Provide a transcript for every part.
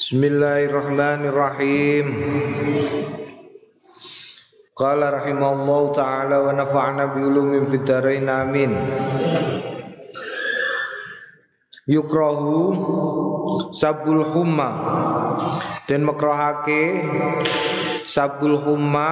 Bismillahirrahmanirrahim. Qala rahimallahu ta'ala wa nafa'na bi ulumin fid dharain amin. Yukrahu sabul humma, dan makrohake sabul humma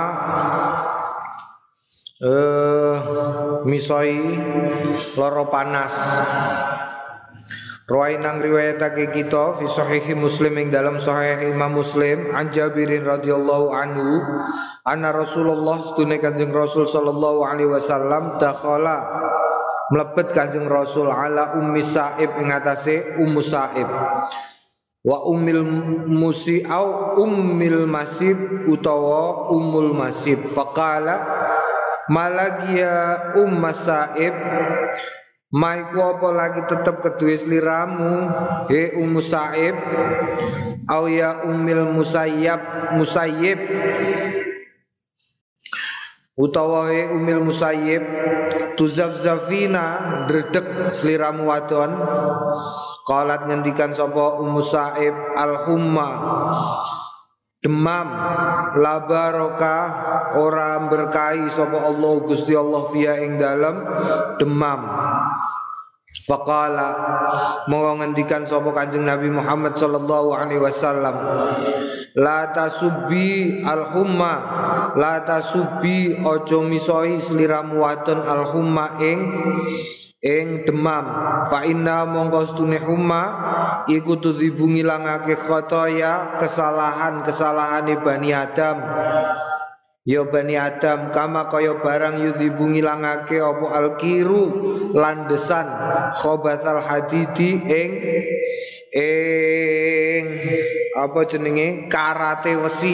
misoi loro panas. Rawainang riwayatake kita fi sahihi Muslim ing dalam sahih Imam Muslim an Jabirin radhiyallahu anhu anna Rasulullah sedune Kanjeng Rasul sallallahu alaihi wasallam dakhala mlebet Kanjeng Rasul ala Ummi Sa'ib ing atase Ummu Sa'ib wa ummil musi au ummil masib utawa ummul masib faqala malagia Ummu Sa'ib maiku apa lagi tetep kedue sliramu he Ummu Sa'ib au ya ummil musayyib utawa he ummil musayyib tuzafzafina dredeg sliramu wadon. Qalat ngendikan sapa Ummu Sa'ib al-humma demam la barokah ora berkahi sapa Allah Gusti Allah fiya ing dalem demam. Faqala monggo ngendikan sapa Kanjeng Nabi Muhammad sallallahu alaihi wasallam la tasubbi al-humma, la tasubbi ojo misoi sliramu wadon al-humma ing demam. Fa inna monggo stune humma iku tudzibu ngilangake khotoya kesalahan-kesalahane Bani Adam. Ya Bani Adam kama kaya barang yudzibu ngilangake apa alkiru landesan khobathal hadidi ing apa jenenge karate wesi.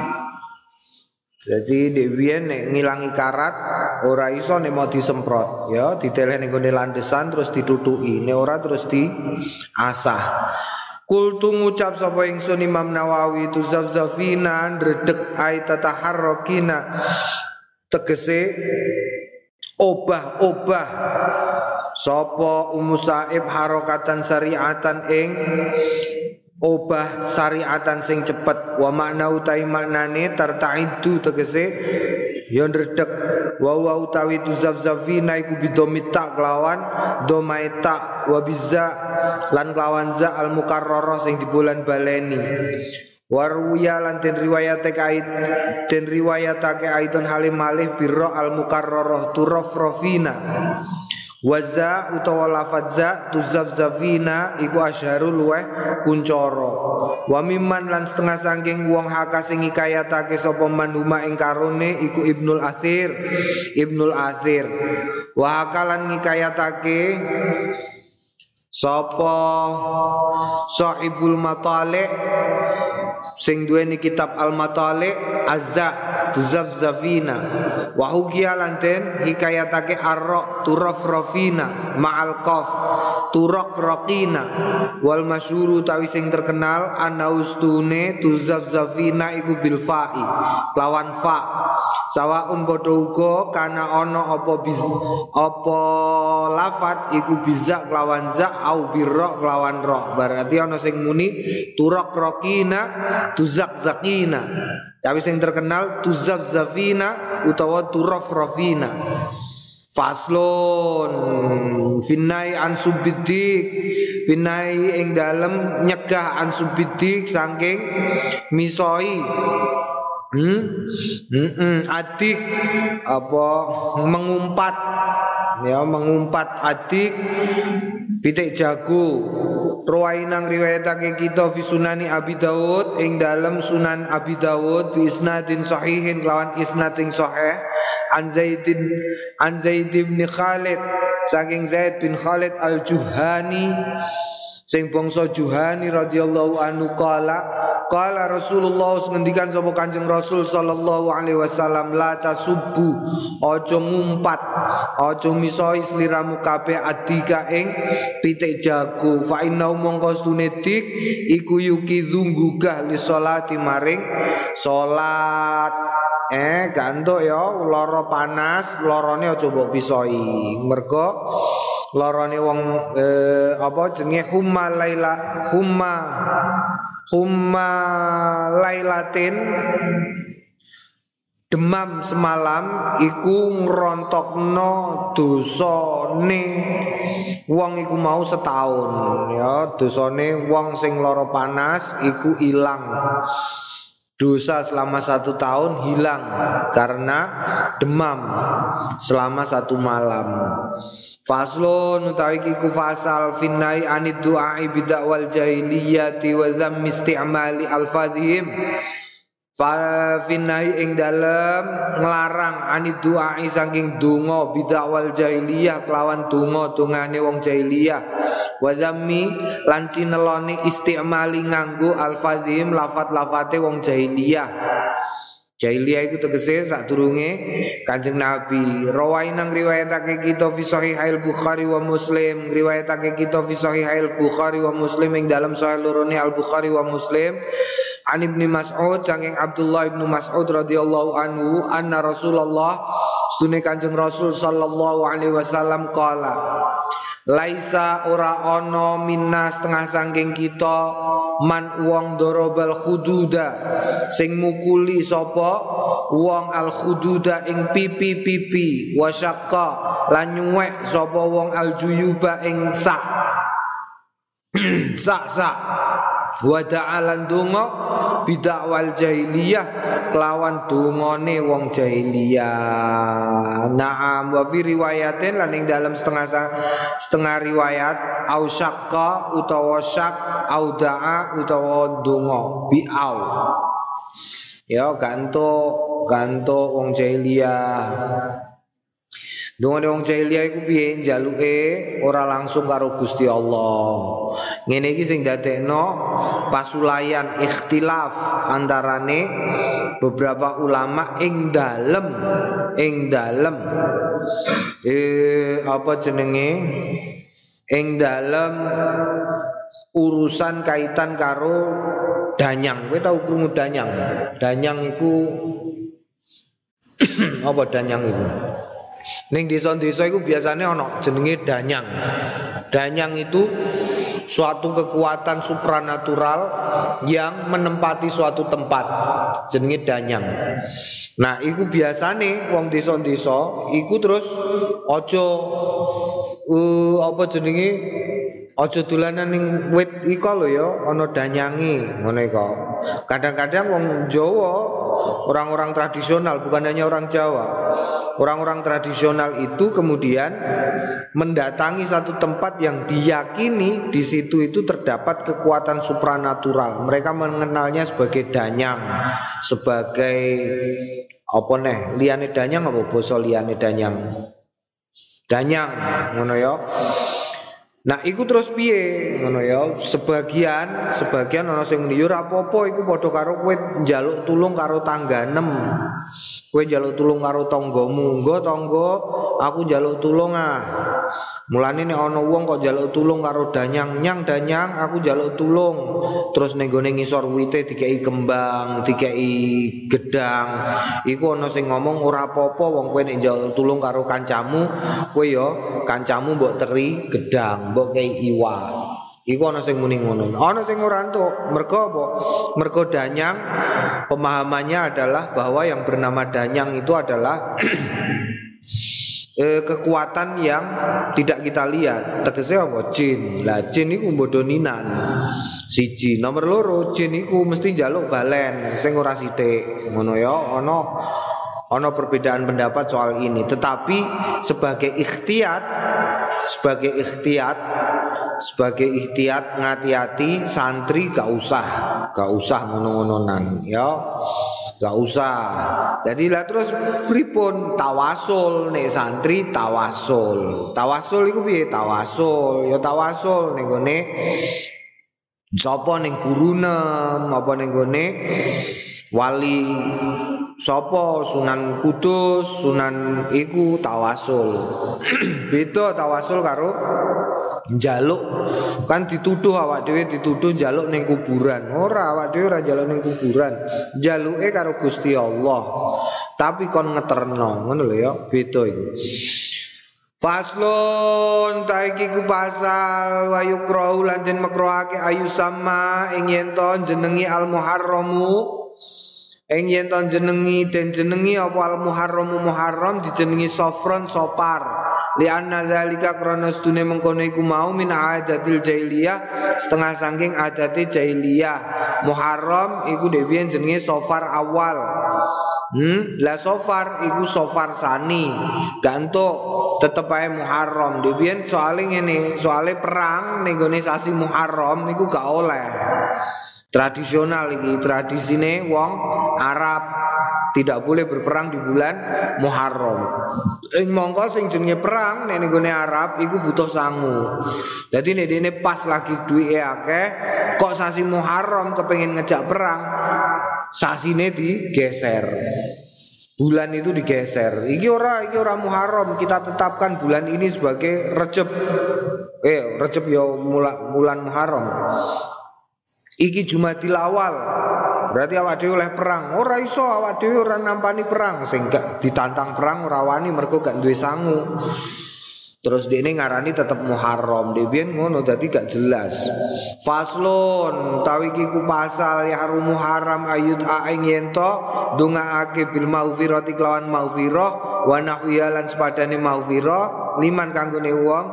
Jadi dewian nek ngilangi karat ora iso nek mau disemprot ya diteleh ning gone landesan terus ditutuki nek ora terus diasah. Kultu ngucap sapa ingsun Imam Nawawi tu zafzafina ndredeg ai tataharrokina tegese obah-obah sapa Ummu Sa'ib harokatan syariatan ing obah syariatan sing cepet wa makna utai maknane tartaidu tegese ya ndredeg wa utawi tu zafzafina iku bidomita kelawan domaita wa bizza lan kelawan za al mukarrarah sing dibulan baleni waruya lan den riwayatake aitun halim malih birra al mukarrarah turafrafina waza utawa lafaz za tuzafzafina iku asyharul luweh kuncara wa mimman lan setengah saking wong haka sing ngikayatake sapa manhuma ing karone iku Ibnul Athir wa hakalan ngikayatake sapa Sahibul Matali' sing duweni kitab Al-Matali' azza tuzafzafina wa hukiya lanten hikayatake arra turafrafina ma'al qaf turaqraqina wal masyhuru tawi sing terkenal anaustune tuzafzafina iku bil fa'i lawan fa sawaun padha uga kana ana apa lafat iku bisa lawan za au birra lawan ra berarti ana sing muni turaqraqina tuzakzakina tapi sing terkenal tuzafzafina utawa turafrafina. Faslun finai an subiddik finai ing dalem nyegah an subiddik saking misoi adik apa mengumpat ya mengumpat adik pitik jago. Ruwainang riwayatake kita fi sunani Abi Dawud ing dalam Sunan Abi Dawud bi isnadin sahihin lawan isnad sing sahih an Zaid bin Khalid saking Zaid bin Khalid al-Juhani sing bangsa Juhani radhiyallahu anhu qala Rasulullah ngendikan sapa Kanjeng Rasul sallallahu alaihi wasallam la tasubbu aja ngumpat aja misoi sliramu kabeh adika ing pitik jago fa inna mongko stunedik iku yuki dunggugah li sholati maring salat gantuk ya lara panas larane aja mbok pisoi mergo larane wong apa jenenge humma humma lailatin demam semalam iku ngrontokno dosane wong iku mau setahun ya, dosane wong sing lara panas iku ilang. Dosa selama 1 tahun hilang karena demam selama 1 malam. Faslun utawi iku fasal finnai anid du'ai bidakwal jahiliyati wa dzammi isti'mali alfadhim. Finnai ing dalem nglarang anid du'ai saking donga bidakwal jahiliyah kelawan donga dongane wong jahiliyah. Wa dzammi lan cineloni istimali nganggo alfadhim lafat-lafate wong jahiliyah. Jahiliyah iku tegese sadurunge Kanjeng Nabi. Rawainang riwayatake kita fi Shahihail Bukhari wa Muslim, riwayatake kita fi Shahihail Bukhari wa Muslim ing dalam sahih lorone Al Bukhari wa Muslim. An Ibnu Mas'ud saking Abdullah Ibnu Mas'ud radhiyallahu anhu anna Rasulullah stune Kanjeng Rasul sallallahu alaihi wasallam qala laisa ora ana minna setengah saking kita man wong dorobal khududa sing mukuli sapa wong al khududa ing pipi-pipi wasyaqqa lan nyuwek sapa wong al juyuba ing sak wa ta'alan donga bidakwal jahiliyah kelawan dongane wong jahiliyah. Naam wa fi riwayatin lan ing dalam setengah riwayat au syaqqa utawa syak au da'a utawa donga bi'au ya ganto wong jahiliyah. Dongane wong jahiliyah iku piye njaluke ora langsung karo Gusti Allah. Ngene iki sing dadekno pasulayan ikhtilaf antarane beberapa ulama ing dalem apa jenenge ing dalem urusan kaitan karo danyang. Kowe tau krungu danyang? Danyang iku apa danyang iku? Ning desa-desa iku biasanya ana jenenge danyang. Danyang itu suatu kekuatan supranatural yang menempati suatu tempat. Jenenge danyang. Nah, iku biasane wong desa-desa iku terus aja apa jenenge aja dolanan ning wit iko lho ya, ana danyange ngono iku. Kadang-kadang wong Jawa, orang-orang tradisional bukan hanya orang Jawa. Orang-orang tradisional itu kemudian mendatangi satu tempat yang diyakini di situ itu terdapat kekuatan supranatural. Mereka mengenalnya sebagai danyang, sebagai apa nih? Liyane danyang apa basa liyane danyang? Danyang, ngono ya. Nah, iku terus piye ngono ya? Sebagian ana sing muni yo ora apa-apa iku padha karo kowe njaluk tulung karo tangganem. Kowe njaluk tulung karo tanggamu, nggo tangga aku njaluk tulung ah. Mulane nek ana wong kok njaluk tulung karo danyang, nyang danyang aku njaluk tulung. Terus ning gone ngisor wite dikeki kembang, dikeki gedang. Iku ana sing ngomong ora apa-apa wong kowe nek njaluk tulung karo kancamu, kowe ya kancamu mbok teri gedang, mbok kei iwa. Iku ana sing muni ngono. Ana sing ora entuk. Mergo apa? Mergo danyang pemahamannya adalah bahwa yang bernama danyang itu adalah kekuatan yang tidak kita lihat. Tegese apa? Jin. Lah jin iku bodoninan. Siji, nomor loro jin iku mesti njaluk balen sing ora sithik. Ngono ya, ana perbedaan pendapat soal ini. Tetapi sebagai ikhtiyat ngati-hati santri gak usah ngono-ngononan ya. Gak usah. Jadi lah terus pripun tawasul nek santri tawasul. Tawasul iku piye tawasul? Ya tawasul ning gone sapa ning gurunem apa ning gone wali sapa Sunan Kudus, Sunan iku tawasul. Beda tawasul karo njaluk. Kan dituduh awak dhewe dituduh njaluk ning kuburan. Ora, awak dhewe ora njaluk ning kuburan. Njaluke karo Gusti Allah. Tapi kon ngeterno, ngono lho ya, beda iku. Faslun taiki ku pasal wa yukrau lan den makruhake ayu sama ing yen to jenengi al muharramu ing yen to jenengi apa al muharramu muharram dijenengi sofron sopar li anna zalika krana stune mengkono iku mau min adatil jahiliyah setengah saking adate jahiliyah. Muharram iku dhewe jenenge sofar awal. La sofar iku sofar sani gantuk tetep ae Muharram dhewe soalé ngene soalé perang ning gone sasi Muharram iku gak oleh tradisional iki tradisine wong Arab tidak boleh berperang di bulan Muharram. Mongko sing jenenge perang ning gone Arab iku butuh sangu. Dadi nek dene pas lagi duwike akeh kok sasi Muharram kepengin ngejak perang sasine digeser. Bulan itu digeser. Iki ora Muharram, kita tetapkan bulan ini sebagai Rejab. Rejab ya bulan Muharram. Iki Jumadil Awal. Berarti awak dhewe oleh perang. Ora iso awak dhewe ora nampani perang sing gak ditantang perang ora wani mergo gak duwe sangu. Terus dene ngarani tetep Muharram, dhewe ngono dadi gak jelas. Faslun tawi iki ku pasal ya harum haram ayut aing yento dongaake bil maufirati kelawan maufirah wa nahwiyalan sepadane maufirah liman kanggone wong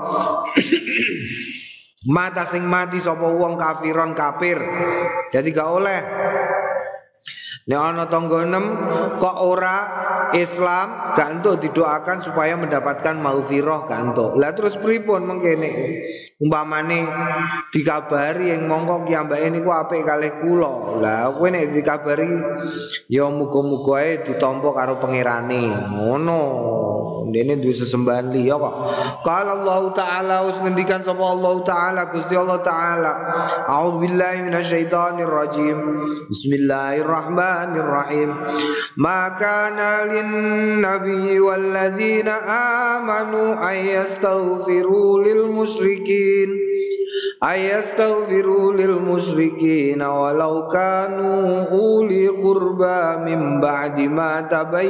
mata sing mati sapa wong kafiron kafir. Jadi gak oleh nek ana tangga 6 kok ora Islam gak entuk didoakan supaya mendapatkan maghfirah gak entuk. Lah terus pripun mengkene umpamane dikabari yang mongko kiyambake niku apik kalih kula. Lah kowe nek dikabari ya muga-muga ae ditampa karo pangerane. Ngono. Dene duwe sesembahan liya kok. Qala Allah taala us ngendikan sapa Allah taala Gusti Allah taala. A'udzubillahi minasyaitonir rajim. Bismillahirrahmanirrahim. Ma kana lin-nabiyyi walladzina amanu ayastaghfiru lil musyrikin walau kanu uli qurba min ba'di ma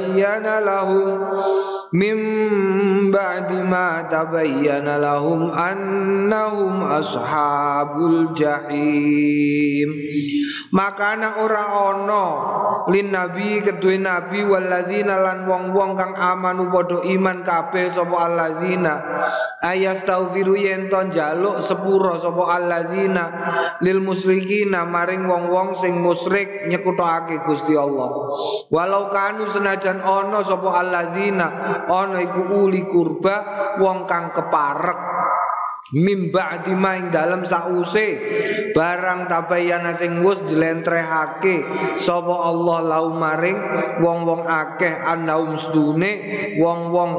tabayyana lahum annahum ashabul jahim. Makana ora ono lin nabi kedue nabi walladzina lan wong-wong kang amanu padha iman kabeh sapa alladzina ayastaghfiru yen to njaluk sepura sapa alladzina lil musyrikina maring wong-wong sing musyrik nyekutake Gusti Allah. Walau kanu senajan ono sapa alladzina ono iku uli kurba wong kang keparek mimba dimaing dalam sause barang tabayana sing wis dilentrehake sapa Allah lau maring wong-wong akeh annaum sedune wong-wong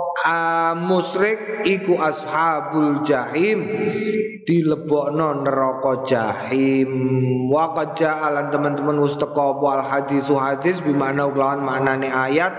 musyrik iku ashabul jahim dilebokno neraka jahim. Wa qad ja'alan teman-teman wis teka wal hadis bimana kelawan maknane ayat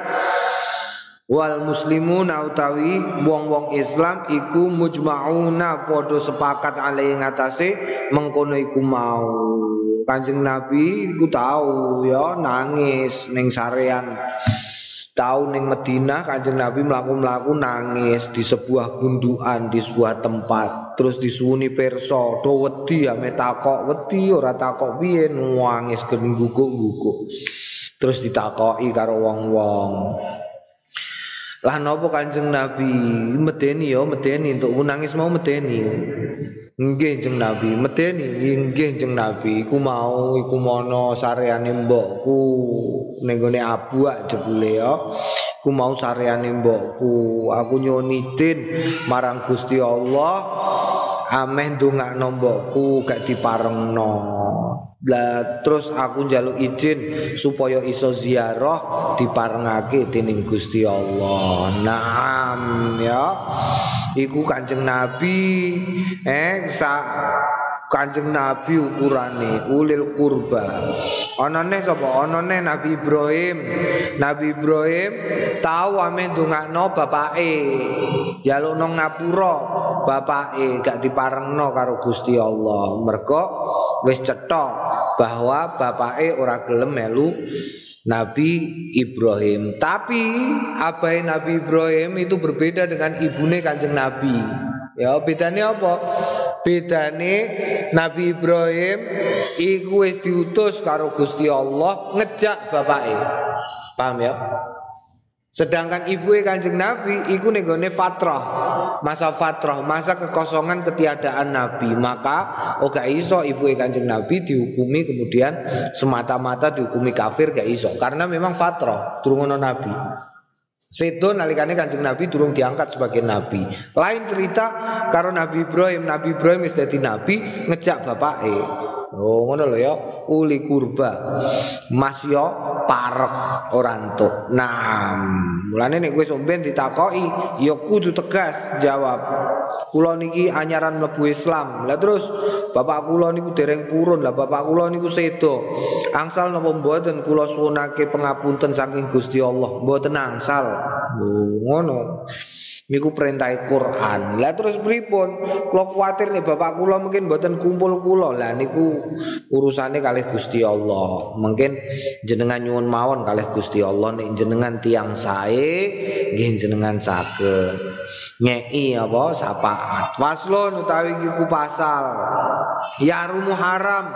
wal muslimuna utawi wong-wong Islam iku mujma'una padha sepakat alai ngatasé mengkono iku mau. Kanjeng Nabi iku tau ya nangis ning sarean. Tau ning Madinah Kanjeng Nabi mlaku-mlaku nangis di sebuah gundukan di sebuah tempat. Terus disuwuni pirsa, do wedi ame takok wedi ora takok piye nangis guguk-guguk. Terus ditakoki karo wong-wong. Lah napa Kanjeng Nabi medeni ya medeni untuk nangis mau medeni. Nggih Kanjeng Nabi medeni nggih Kanjeng Nabi iku mau iku mono sareane mbokku ning gone abuak jebule ya. Iku mau sareane mbokku aku nyonidin marang Gusti Allah ameh ndongakno mbokku gak diparengno. Lah terus aku njaluk izin supaya iso ziarah diparengake dening Gusti Allah. Naam ya. Iku Kanjeng Nabi Kanjeng Nabi ukurane ulil kurba. Anane sapa? Anane Nabi Ibrahim. Nabi Ibrahim tau ame ndongakno bapake. Njalukno ngapura bapake gak diparengno karo Gusti Allah. Mergo wis cetha bahwa bapake ora gelem melu Nabi Ibrahim. Tapi abai Nabi Ibrahim itu berbeda dengan ibune Kanjeng Nabi. Ya, bedanya apa? Bedane Nabi Ibrahim iku wis diutus karo Gusti Allah ngejak bapake. Paham ya? Sedangkan ibuke Kanjeng Nabi iku ning gone fatrah, masa kekosongan ketiadaan Nabi. Maka gak iso ibuke Kanjeng Nabi dihukumi kemudian semata-mata dihukumi kafir, gak iso. Karena memang fatrah, durung ono Nabi. Sedo nalikane Kanjeng Nabi durung diangkat sebagai nabi. Lain cerita karo Nabi Ibrahim wis dadi nabi ngejak bapake. Oh ngono lho ya, uli kurba. Mas yo parek ora entuk. Nah, mulane nek kowe somben ditakoki ya kudu tegas jawab. Kula niki anyaran mlebu Islam. Lah terus bapak kula niku dereng purun. Lah bapak kula niku sedo. Angsal napa mboten kula suwunake pangapunten saking Gusti Allah. Mboten angsal. Lho ngono. Niku perintah Quran. Lah terus pripun? Kula kuwatir nih bapak kula mungkin mboten kumpul kula. Lah niku urusane kalih Gusti Allah. Mungkin jenengan nyuwun mawon kalih Gusti Allah nek jenengan tiyang sae nggih jenengan saged nyeki apa syafaat. Faslun utawi iki ku pasal. Ya rumu haram.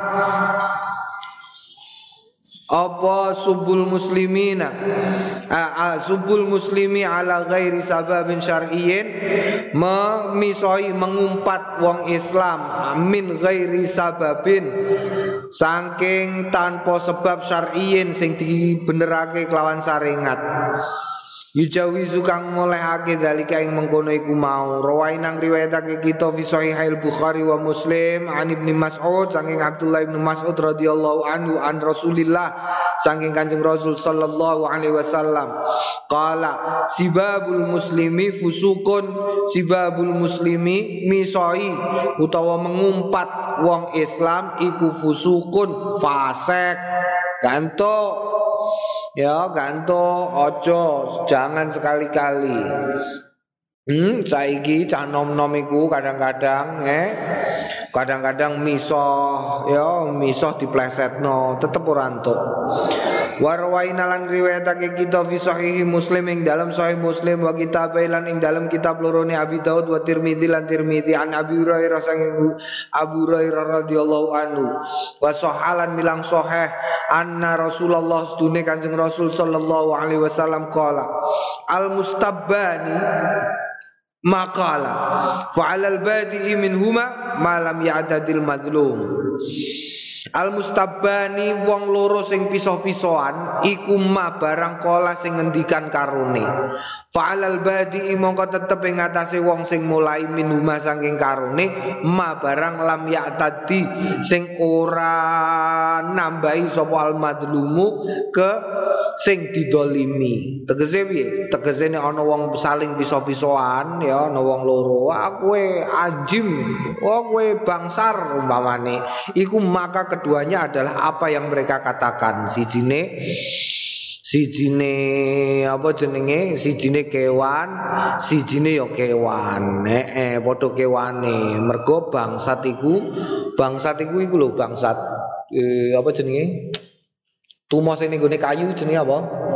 Apa subul muslimina subul muslimi ala ghairi sababin syar'iyyin, memisoi mengumpat wong Islam min ghairi sababin saking tanpa sebab syar'iyyin sing dibenerake kelawan syariat. Yujawizu kang ngolehake dalika ing mengkono iku mau. Rawainang riwayatake kita fi Sahihil Bukhari wa Muslim an Ibnu Mas'ud saking Abdullah bin Mas'ud radhiyallahu anhu an Rasulillah saking Kanjeng Rasul sallallahu alaihi wasallam qala sibabul muslimi fusukun, sibabul muslimi misoi utawa mengumpat wong Islam iku fusukun fasik. Ganto ya ganto ojo, jangan sekali-kali. Saiki cah nom-nom iku kadang-kadang misoh ya misoh diplesetno tetep ora entuk. Warwaina lan riwayatake kita fi sahih Muslim ing dalam sahih Muslim wa kitab lan ing dalam kitab lorone Abi Daud wa Tirmidzi lan Tirmidzi an Abi Hurairah saking Abu Hurairah radhiyallahu anhu wa sahalan milang sahih anna Rasulullah sedune Kanjeng Rasul sallallahu alaihi wasallam qala al mustabbani maqala fa'alal badi'i minhuma ma lam ya'tadil madlum. Al mustabbani wong loro sing pisah-pisahan iku ma barang kala sing ngendikan karone. Fa'alal badi'i mongko tetep ing atase wong sing mulai minhuma saking karone ma barang lam ya'tadi sing ora nambahi sapa al madlumu ke sing didolimi. Tegese piye? Tegese nek ana wong saling pisah-pisahan ya ana wong loro, kowe anjim, kowe bangsar umpamane. Iku maka keduanya adalah apa yang mereka katakan. Sijine apa jenenge? Sijine kewan, sijine ya kewan. Padha kewane. Mergo bangsat iku iku lho bangsat apa jenenge? Tumo sing ning kayu jenenge apa?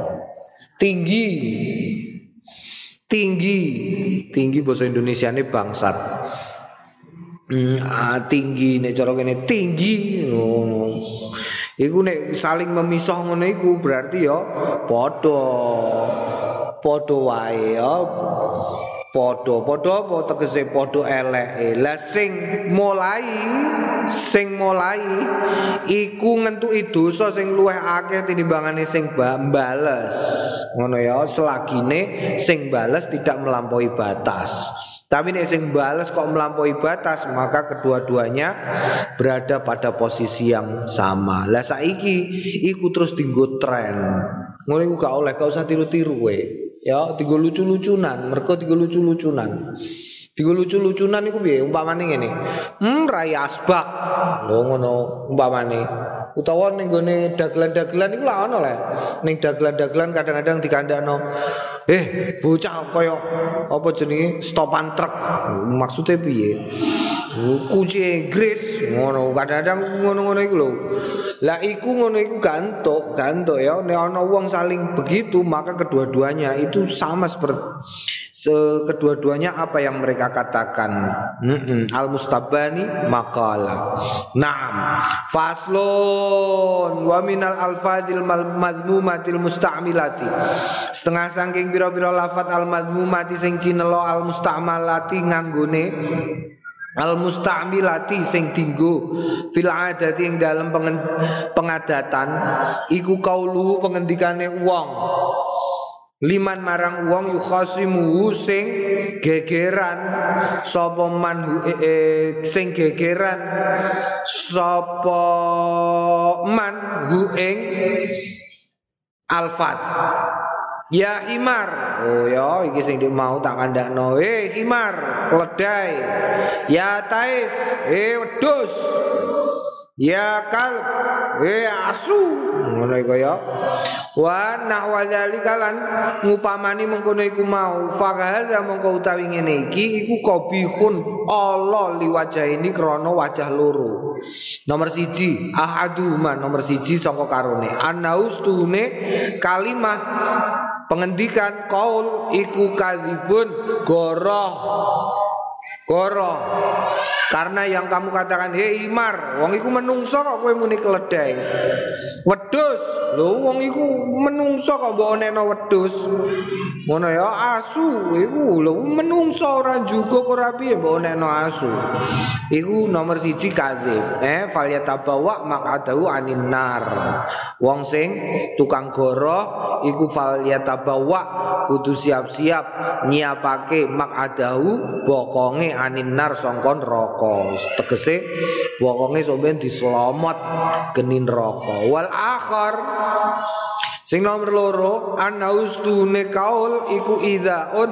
Tinggi bahasa Indonesiane bangsat. Tinggi nek cara kene tinggi ngono. Iku nek saling memisah ngono iku berarti ya padha wae ya. Padha apa tegese padha eleke. Lah sing mulai iku ngentuki dosa sing luwih akeh tinimbangane sing bales. Ngono ya, selagine sing bales tidak melampaui batas. Tapi nek sing bales kok melampaui batas, maka kedua-duanya berada pada posisi yang sama. Lah saiki iku terus dienggo tren. Ngono iku gak usah tiru-tiru kowe. Ya, dienggo lucu-lucunan, mergo dienggo lucu-lucunan. Digo lucu-lucunan iku piye umpamane ngene. Raya asbak. Lho ngono umpamane. Utawa ning gone dagelan-dagelan iku lak ono le. Ning dagelan-dagelan kadang-kadang dikandakno. Bocah kaya apa jenenge stopan truk. Maksude piye? Kunci Inggris ngono kadang-kadang ngono-ngono iku lho. Lah iku ngono iku gantuk ya. Nek ana wong saling begitu maka kedua-duanya itu sama seperti kedua-duanya apa yang mereka katakan. Al-mustabani maqala. Naam. Faslun wa minal alfadil madmumatil musta'milati. Setengah saking pira-pira lafat al-madmumati sing cinelo al-musta'malati nganggone al-musta'milati sing dinggo fil adati ing dalem pengadatan iku kaulu pengendikane wong liman marang wong yukhasimu sing gegeran sapa man sing gegeran sapa man hu ing alfat. Ya himar. Oh ya iki sing mau tak kandakno. Himar, keledai. Ya tais, wedhus. Ya kalb, asu. Ngono iku ya. Wa nahwa dzalika lan ngupamani mengkono iku mau. Faqaha mongko utawi ngene iki iku qabihun Allah liwajah ini krana wajah loro. Nomor 1 ahaduma nomor 1 saka karone. Anaustune kalimah pengendikan kaul iku kadzibun goroh karena yang kamu katakan himar wong iku menungso kok kowe muni keledai. Wedhus lho wong iku menungso kok mbok onekno wedhus. Ngono ya asu iku lho menungso ora juga kok ora piye mbok onekno asu. Iku nomor 1 kadzib. Falyatabawa maq'adahu anin nar. Wong sing tukang goroh iku falyatabawa kudu siap-siap nyiapake maq'adahu bokonge anin nar sangka neraka. Tegese bokonge sampeyan dislomot geni neraka. Wal akhar sing nomor 2 anaustune kaul iku idzaun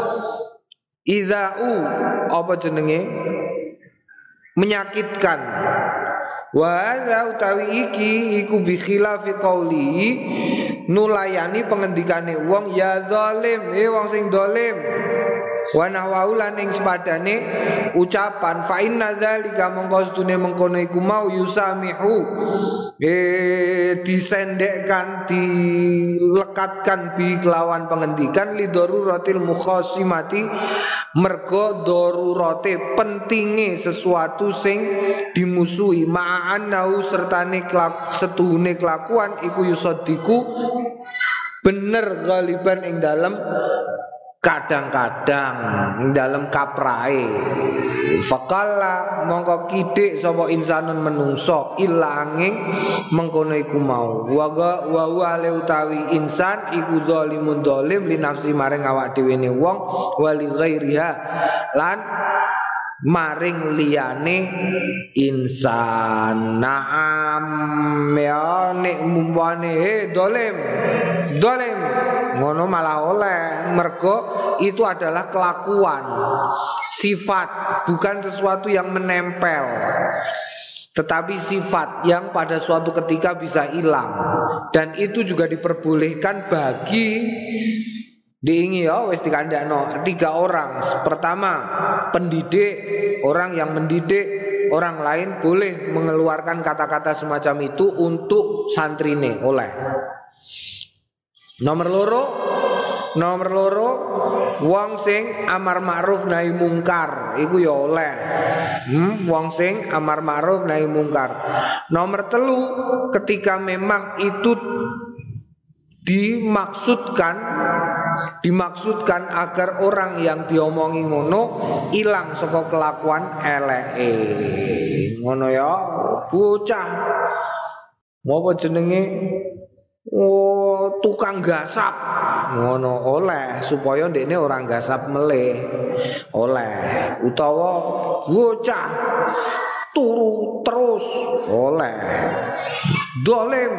idzau apa jenenge menyakitkan. Wa hadza utawi iki iku bi khilafi qauli nulayani pengendikane wong ya zalim wong sing zalim. Wa nahwaulan ing sepadane ucapan fa inna dzalika mongko sedune mengkono iku mau yusamihu disendekkan dilekatkan bi kelawan pengendikan li daruratil mukhasimati mergo darurate pentinge sesuatu sing dimusuhi ma'anau sertane setuhune kelakuan iku yusadiku bener galiban ing dalem kadang-kadang ing dalem kaprae. Faqala mongko kidik sapa insanun menungso ilanging mengkono iku mau wa le utawi insan iku zalimun zalim li nafsi maring awak dhewe ne wong wali ghairiha lan maring liyane insan. Naam ya nek mumpane dolim ngono malah oleh mergo itu adalah kelakuan sifat bukan sesuatu yang menempel tetapi sifat yang pada suatu ketika bisa hilang dan itu juga diperbolehkan bagi diingi ya wis dikandakno 3 orang. Pertama pendidik, orang yang mendidik orang lain boleh mengeluarkan kata-kata semacam itu untuk santrine oleh. Nomor loro wong sing amar ma'ruf nahi mungkar iku ya oleh. Wong sing amar ma'ruf nahi mungkar. Nomor 3 ketika memang itu dimaksudkan agar orang yang diomongi ngono ilang saka kelakuan eleke. Ngono ya bocah apa jenenge tukang gasap ngono oleh supaya ndekne orang gasap meleh oleh utawa bocah turu terus oleh dolim.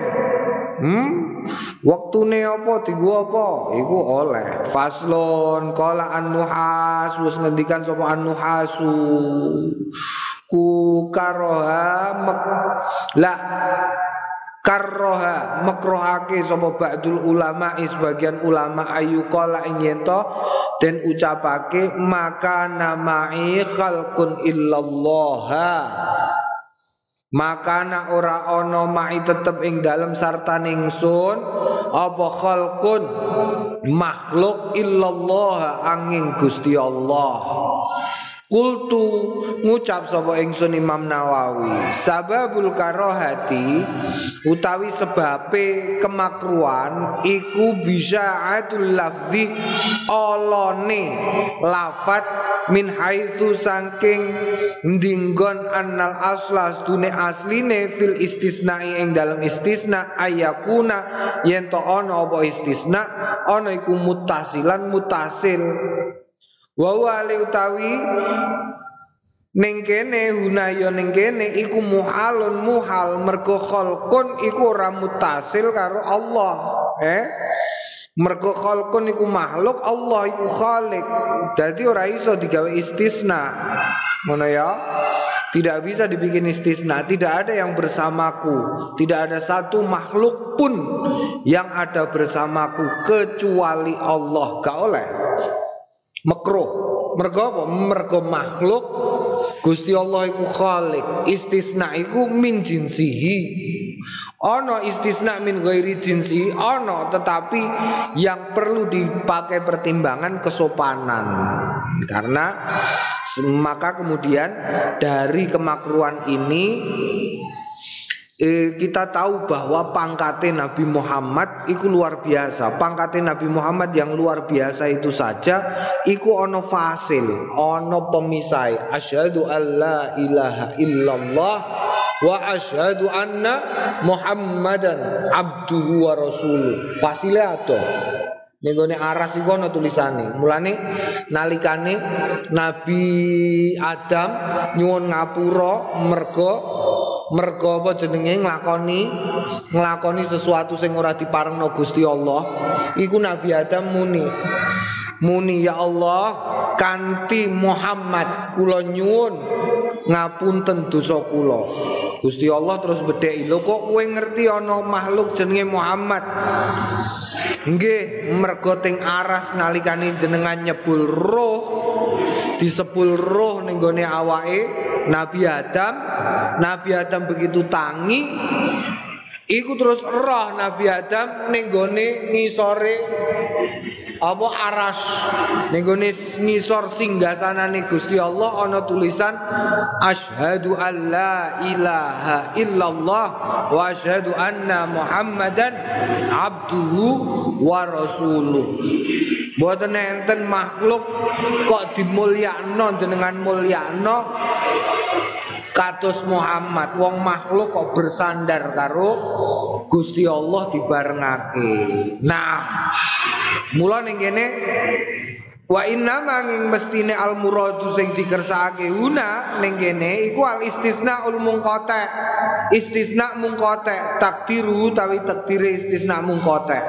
Waktune apa digo apa iku oleh. Faslon qala an-nuhas wis ngendikan sapa an-nuhasu ku karoha la karroha makrohake sapa ba'dul ulama sebagian ulama ayu qala ing yento den ucapake maka nama'i khalqun illallaha maka na ora ono ma'i tetep ing dalem sartane ingsun apa khalqun makhluk illallah angin Gusti Allah. Kultu ngucap sapa ingsun Imam Nawawi sababul karohati utawi sebabe kemakruan iku bisya'atul lafzi olone lafat min haitsu saking ndinggon annal asla stune asline fil istisna'i ing dalam istisna ayakuna yen to ana apa istisna ana iku muttasilan muttasil wa wali utawi ning kene hunaya ning kene iku muhalun muhal mergo khalqun iku ora muttasil karo Allah mergo khalqun iku makhluk Allah iku khaliq dadi ora iso digawe istisna ngono ya. Tidak bisa dibikin istisna. Tidak ada yang bersamaku. Tidak ada satu makhluk pun yang ada bersamaku kecuali Allah. Gak oleh. Makruh. Mergo apa? Mergo makhluk Gusti Allah iku khalik. Istisna iku min jinsihi. Ono istisna min ghairi jinsi. Ono tetapi yang perlu dipakai pertimbangan kesopanan. Karena maka kemudian dari kemakruhan ini kita tahu bahwa pangkatnya Nabi Muhammad itu luar biasa. Pangkatnya Nabi Muhammad yang luar biasa itu saja iku ono fasil, ono pemisai. Asyhadu alla ilaha illallah wa asyhadu anna Muhammadan abduhu wa rasuluh. Fasile ado. Ning gone aras iku ana tulisane. Mulane nalikane Nabi Adam nyuwun ngapura mergo apa jenenge nglakoni sesuatu sing ora diparengno Gusti Allah. Iku Nabi Adam muni ya Allah kanthi Muhammad kula nyuwun ngapunten dosa kula. Gusti Allah terus bedheki, lho kok kowe ngerti ana makhluk jenenge Muhammad? Nggih, mergo teng aras nalikane jenengan nyebul roh, disebul roh ning gone awake Nabi Adam begitu tangi iku terus roh Nabi Adam ning gone ngisore apa aras ning gone ngisor singgasanane Gusti Allah ana tulisan asyhadu alla ilaha illallah wa asyhadu anna Muhammadan abduhu wa rasuluh. Mboten enten makhluk kok dimulyakno jenengan mulyakno kados Muhammad. Wong makhluk kok bersandar karo Gusti Allah dibarengake. Nah, mula ning kene wa inna manging mestine al muradu sing dikersakake una ning kene iku al istisnaul munqata. Istisna munqata takdiru tawi takdire istisna munqata.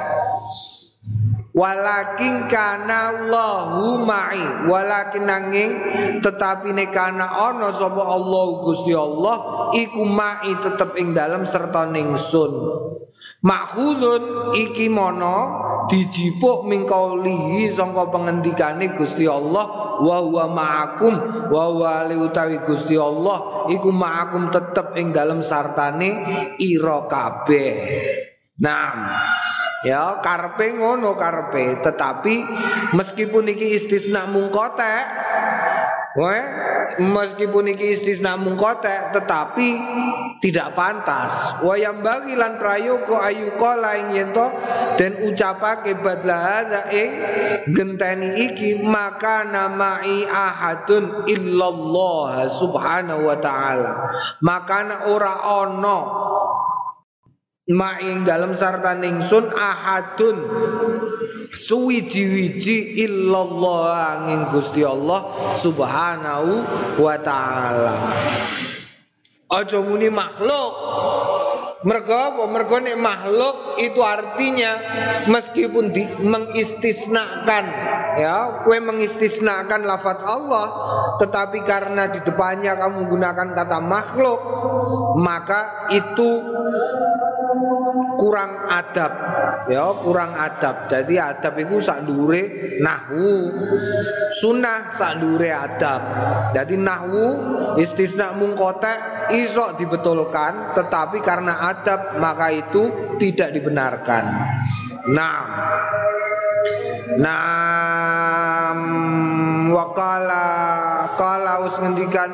Walakin kana Allahu ma'i walakin nanging tetapi nekana ana sapa Allah Gusti Allah iku ma'i tetep ing dalem serta ningsun. Makhudun iki mono dijipuk mingkaulihi sangka pengendikane Gusti Allah wa huwa ma'akum wa huwa utawi Gusti Allah iku ma'akum tetep ing dalem sartane ira kabeh. Nah, ya karpe ngono karpe, tetapi meskipun iki istisna mungkotek, meskipun iki istisna mungkotek, tetapi tidak pantas. Wayam bagi lan prayoga ayuqala ing yento den ucapake badlah hadza ing genteni iki maka nama'i ahadun illallah subhanahu wa ta'ala. Maka ora ono ma'ing dalam sarta ningsun ahadun suwiji-wiji illallah angin Gusti Allah subhanahu wa ta'ala. Aja muni makhluk Mergo apa? Mergo nek makhluk itu artinya meskipun mengistisnakan, ya, kowe mengistisnakan lafaz Allah, tetapi karena di depannya kamu gunakan kata makhluk, maka itu kurang adab, ya, kurang adab. Jadi adab itu sak ndure nahwu, sunnah sak ndure adab. Jadi nahwu istisna mungkotek iso dibetulkan, tetapi karena adab maka itu tidak dibenarkan. Wakala us ngendikan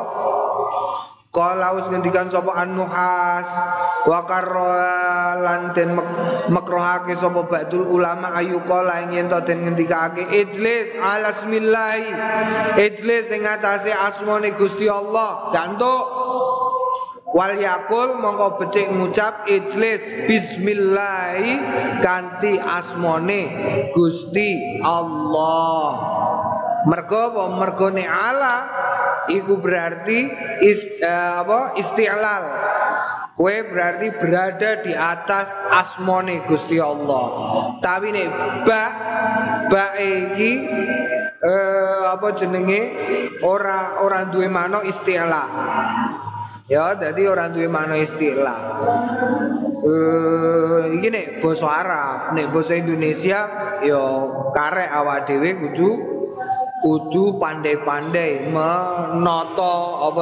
sapa an-nuhas wa karlan den makrohake sapa ba'dul ulama ayu kala ing ento den ngendikake ijlis ala bismillah, ijlis ing atase asmane Gusti Allah gantuk wal yakul mongko becik ngucap ijlis bismillah kanthi asmane Gusti Allah. Mergo apa? Mergone ala iku berarti isti'lal. Kowe berarti berada di atas asmane Gusti Allah. Tapi nek ba iki ora duwe makna isti'la. Ya, jadi orang duwe makna istilah. Iki nek basa Arab, nek basa Indonesia ya karek awak dhewe kudu pandai-pandai menata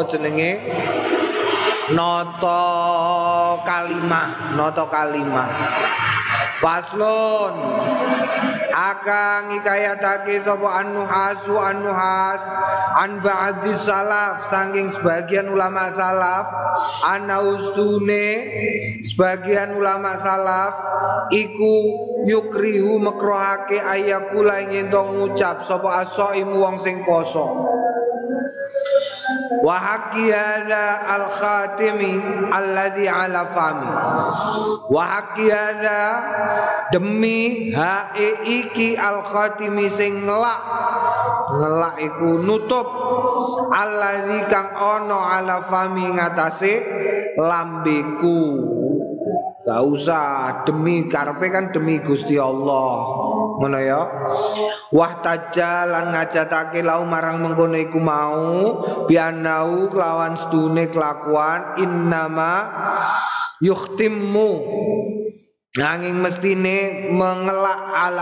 nata kalimah. Faslun akang ngikayatake sapa an-nuhas an ba'di salaf saking sebagian ulama salaf anaustune sebagian ulama salaf iku yukrihu makrohake ayakula ing ento ngucap sapa as-shaim wong sing poso. Wa haqqi hadza al-khatimi alladhi ala fami. Wa haqqi hadza demi hae iki al-khatimi sing ngelak iku nutup alladzi kang ana ala fami ngatasé lambeku. Gak usah demi karepe kan demi Gusti Allah. Ngono ya. Wah tajalan ngajatake lau marang mengkono iku mau bianau kelawan sedune kelakuan innama yukhtimmu nanging mestine mengelak ala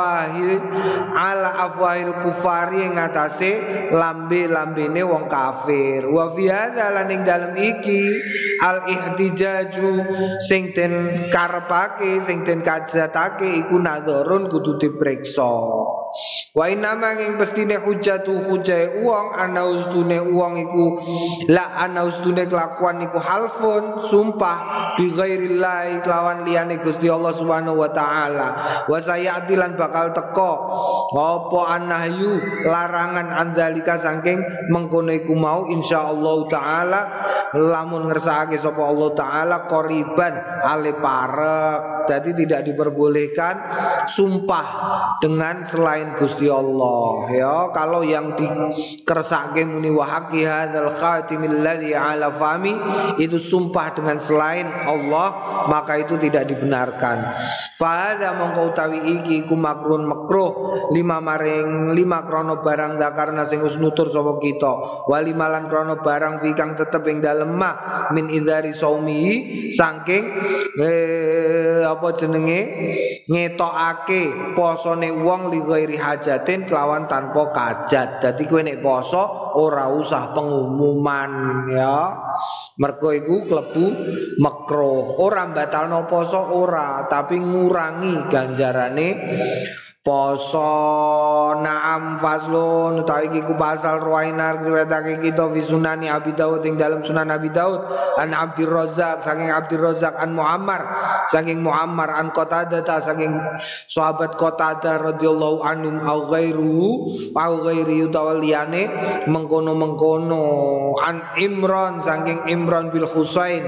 afwahil kufari ing atase lambe-lambene wong kafir. Wa fi hadza lan ing dalem iki al ihtijaju sing den karepake sing den kajatake iku nadharun kudu dipriksa. Wa inama ing mestine hujjatu hujjae wong ana ustune wong iku la ana ustune kelakuan iku halfun sumpah bi ghairillah kelawan liyane Gusti Allah Subhanahu wa taala. Wa sayatilan bakal teko apa annahyu larangan andzalika saking mengkono iku mau insyaallah taala lamun ngersakake sapa Allah taala qoriban ale parek. Jadi tidak diperbolehkan sumpah dengan selain Gusti Allah. Ya, kalau yang dikersake muni wa haqqi hadzal khatimil ladzi ala fami itu sumpah dengan selain Allah, maka itu tidak dibenarkan. Fa hadza mongko utawi iki iku makruh lima krono barang zakarna sing wis nutur sapa kita. Wa limalan krono barang fi kang tetep ing dalem ma min idzari saumi saking apa jenenge ngetokake posone wong li ghairi hajatin kelawan tanpa kajat. Dadi kowe nek poso ora usah pengumuman ya. Mergo iku klebu makruh. Ora batalno poso ora, tapi ngurangi ganjarane poso. Naam faslun utawi iki ku pasal ruwainar riwayatake kita fi sunani Abi Daud ing dalam sunan Abi Daud an Abdur Razzaq saking Abdur Razzaq an Muammar saking Muammar an Qatadah saking sahabat Qatadah radhiyallahu anhum au ghairi utawaliyane mengkono an Imran saking Imran bil Husain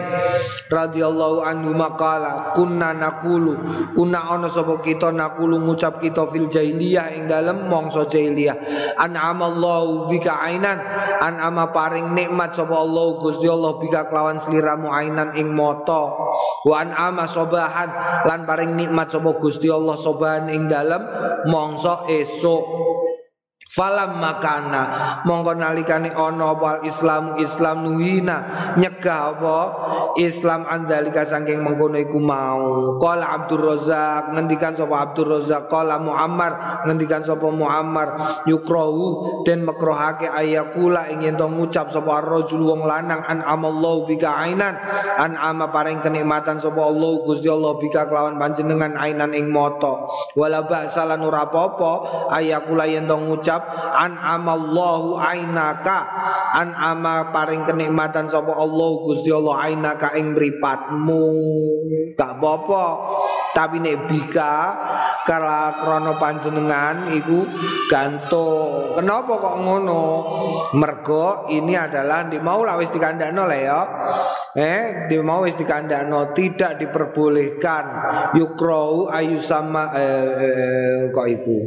radhiyallahu anhu maqala kunna ana sapa kita nakulu ngucap kita fil jahiliyah ing dalem mangsa jahiliyah. An'amallahu bika ainan, an'ama paring nikmat sapa Allah Gusti Allah bika kelawan sliramu ainan ing mata. Wa an'ama sobahan lan paring nikmat sapa Gusti Allah sobahan ing dalem mangsa esuk. Falam makana mongko nalikane ana wal Islamu Islam nuhina nyegah apa Islam andalika saking mengkono iku mau. Qala Abdur Razzaq ngendikan sapa Abdur Razzaq, qala Muammar ngendikan sapa Muammar, yukrahu den makruhake ayakula ing yen to ngucap sapa rajul wong lanang an amallahu bika ainan, an ama paring kenikmatan sapa Allah Gusti Allah bika kelawan panjenengan ainan ing mata. Wala ba'salan ora apa-apa ayakula yen to ngucap an amallahu ainaka, an ama paring kenikmatan sapa Allah Gusti Allah ainaka ing mripatmu, gak apa-apa. Tapi nek bika kala krana panjenengan iku gantung. Kenapa kok ngono? Mergo ini adalah di mau lah wis dikandakno lah ya. Di mau wis dikandakno tidak diperbolehkan yukrau ayu sama kok iku.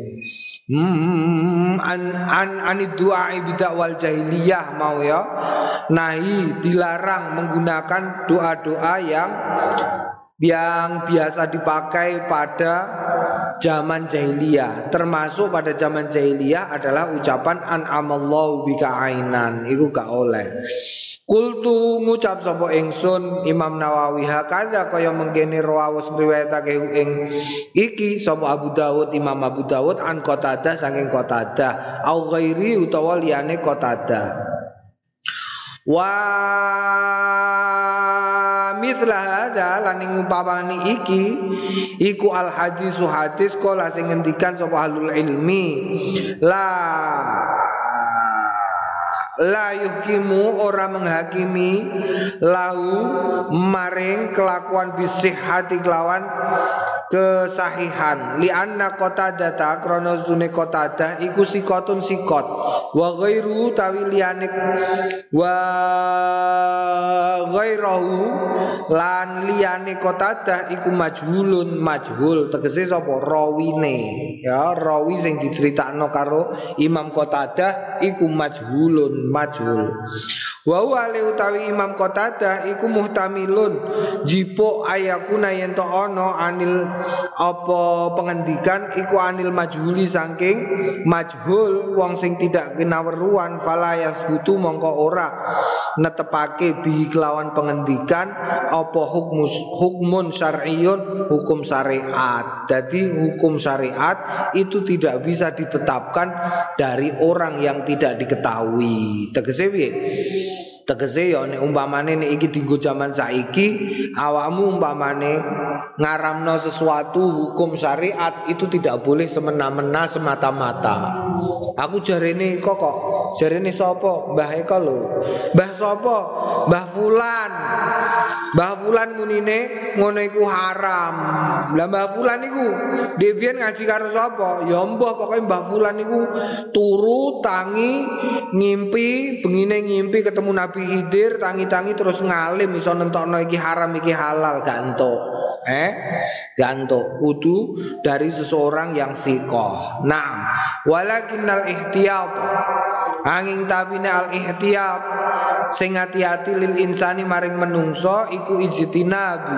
Anid du'a bidak wal jahiliyah mau ya. Nahi dilarang menggunakan doa-doa yang biasa dipakai pada zaman jahiliyah. Termasuk pada zaman jahiliyah adalah ucapan an'amallahu bika ainan. Iku gak oleh. Kultu ngucap sapa ingsun Imam Nawawi hakadha kaya mengkene rawus riwayatake ing iki sapa Abu Dawud Imam Abu Dawud an Qatadah saking Qatadah au ghairi utawa liyane Qatadah. Wa mithla hadza lan ing upamane iki iku al hadisu hadis kala sing ngendikan sapa ahlul ilmi la yuhkimu ora menghakimi lahu maring kelakuan bisihhati kelawan kesahihan li anna Qatadah krana sedune Qatadah iku sikotun sikot wa ghairu tawiliyane wa ghairahu lan liyane Qatadah iku majhulun majhul tegese sapa rawine ya rawi sing diceritakno karo Imam Qatadah iku majhulun majhul. Wa huwa utawi Imam Qatadah iku muhtamilun jipo ayakuna yen to ana anil apa pengendikan iku anil majhuli saking majhul wong sing tidak kinaweruan fala yasbutu mongko ora netepake bi kelawan pengendikan apa hukmun syar'iyyun hukum syariat. Jadi hukum syariat itu tidak bisa ditetapkan dari orang yang tidak diketahui. Tegese piye? Tegese ya nek umpamane nek iki dienggo jaman saiki awakmu umpamane ngaramno sesuatu hukum syariat itu tidak boleh semena-mena semata-mata. Aku jarene kok jarene sapa? Mbah Eko lho. Mbah sapa? Mbah Fulan. Mbah Fulan munine ngono iku haram. Lah Mbah Fulan iku dhewe ngaji karo sapa? Ya mbah pokoke Mbah Fulan iku turu tangi ngimpi bengine ngimpi ketemu Nabi Khidir tangi-tangi terus ngalim iso nentokno iki haram iki halal gak entuk. Gantuk kudu dari seseorang yang thiqah. Naam, walakinnal ihtiyat angin tabine al ihtiyat sing hati-hati lil insani maring menungso iku ijtinabu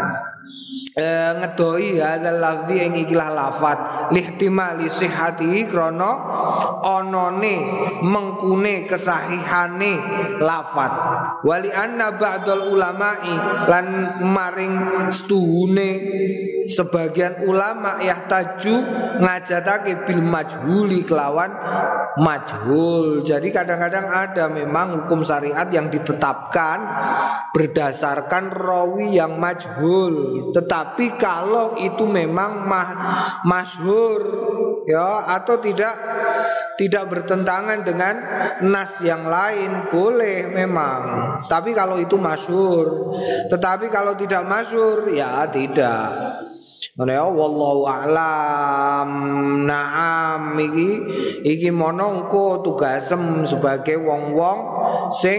ngedoi hadzal lafzi ing ikilah lafat lihtimali sihhati krana onone mengkune kesahihane lafat wali anna ba'dal ulama'i lan maring setuhune sebagian ulama yahtaju ngajatake bil majhuli kelawan majhul. Jadi kadang-kadang ada memang hukum syariat yang ditetapkan berdasarkan rawi yang majhul. Tetapi kalau itu memang masyhur ya atau tidak bertentangan dengan nas yang lain boleh memang. Tapi kalau itu masyhur, tetapi kalau tidak masyhur ya tidak. Ya wallahu a'lam. Naam iki monongko tugasem sebagai wong-wong sing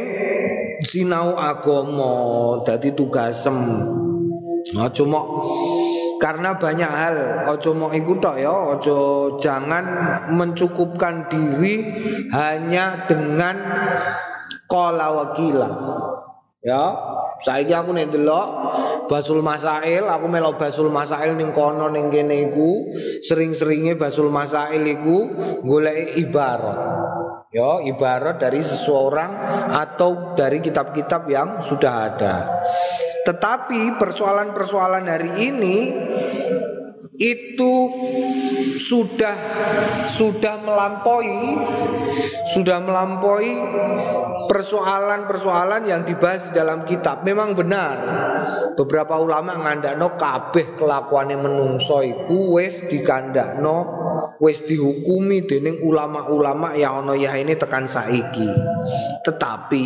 sinau agama dadi tugasem. Cuma Karena banyak hal, ojo mau ikut tok ya, ojo jangan mencukupkan diri hanya dengan qala wakila. Ya, saiki aku nek delok Basul Masail, aku melok Basul Masail ning kono ning kene iku, sering-seringe Basul Masail iku golek ibarat. Ya, ibarat dari seseorang atau dari kitab-kitab yang sudah ada. Tetapi persoalan-persoalan hari ini itu sudah melampaui persoalan-persoalan yang dibahas di dalam kitab. Memang benar beberapa ulama ngandakno kabeh kelakuane menungso iku wis dikandakno, wis dihukumi dening ulama-ulama yang ana ya ini tekan saiki. Tetapi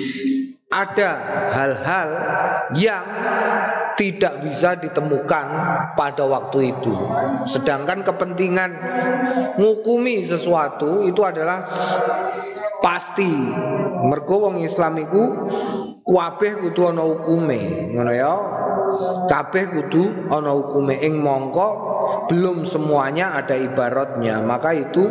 ada hal-hal yang tidak bisa ditemukan pada waktu itu. Sedangkan kepentingan ngukumi sesuatu itu adalah pasti. Mergo wong Islam iku kabeh kudu ana hukume, ngono ya. Kabeh kudu ana hukume ing mongko belum semuanya ada ibaratnya. Maka itu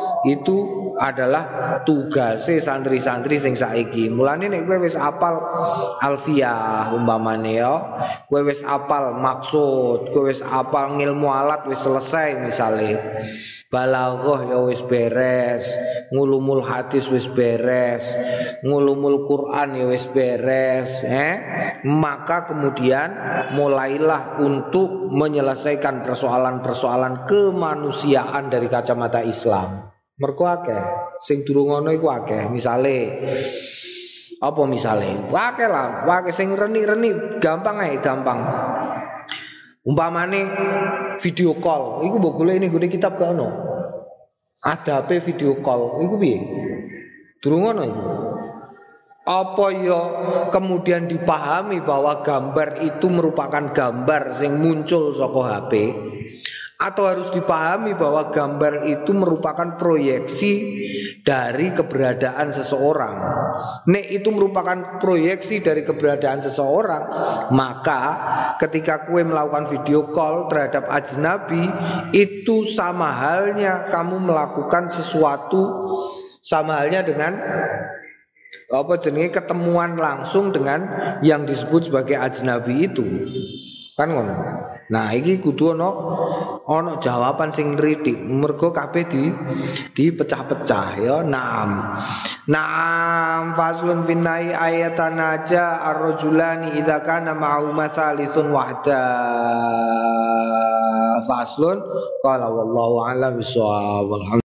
adalah tugase santri-santri sing saiki. Mulane nek kowe wis apal alfiyah umpamane ya, kowe wis apal maksud, kowe wis apal ngilmu alat wis selesai misale. Balaghah ya wis beres, ngulumul hadis wis beres, ngulumul Quran ya wis beres, maka kemudian mulailah untuk menyelesaikan persoalan-persoalan kemanusiaan dari kacamata Islam. Mergo akeh sing durung ngono iku akeh. Misale apa misale? Akeh lah, akeh sing reni-reni gampang ae, gampang. Umpamane video call, iku mbok golek ning gone kitab gak ono. Adabe video call iku piye? Durung ono iku. Apa ya kemudian dipahami bahwa gambar itu merupakan gambar sing muncul saka HP? Atau harus dipahami bahwa gambar itu merupakan proyeksi dari keberadaan seseorang. Nek itu merupakan proyeksi dari keberadaan seseorang, maka ketika kue melakukan video call terhadap ajnabi, itu sama halnya kamu melakukan sesuatu, sama halnya dengan apa jenenge ketemuan langsung dengan yang disebut sebagai ajnabi itu. Kan ngono. Nah, iki kudu ono jawaban sing nritik. Mergo kabeh dipecah-pecah ya. Naam faslun finnai ayatan aja ar-rajulani idza kana ma'u mathalithun wahda. Faslun qala wallahu a'lam bissawab.